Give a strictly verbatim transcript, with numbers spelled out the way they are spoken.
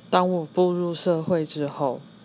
当我步入社会之后，